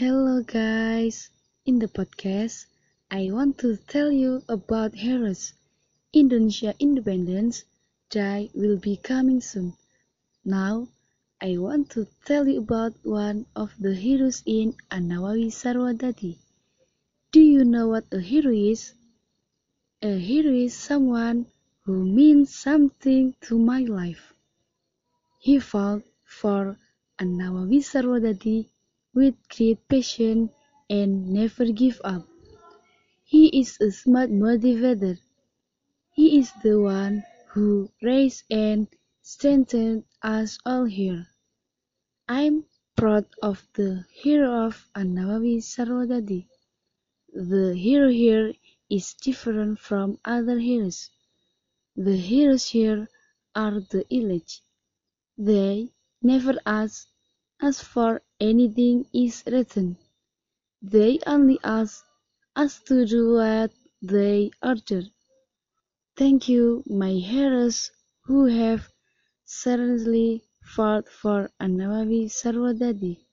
Hello guys, in the podcast, I want to tell you about heroes. Indonesia Independence Day will be coming soon. Now, I want to tell you about one of the heroes in An-Nawawi Sarwadadi. Do you know what a hero is? A hero is someone who means something to my life. He fought for An-Nawawi Sarwadadi with great passion and never give up. He is a smart motivator. He is the one who raised and strengthened us all here. I'm proud of the hero of An-Nawawi Sarwadadi. The hero here is different from other heroes. The heroes here are the elite. They never ask for anything is written. They only ask us to do what they order. Thank you, my heroes who have seriously fought for An-Nawawi Sarwadadi.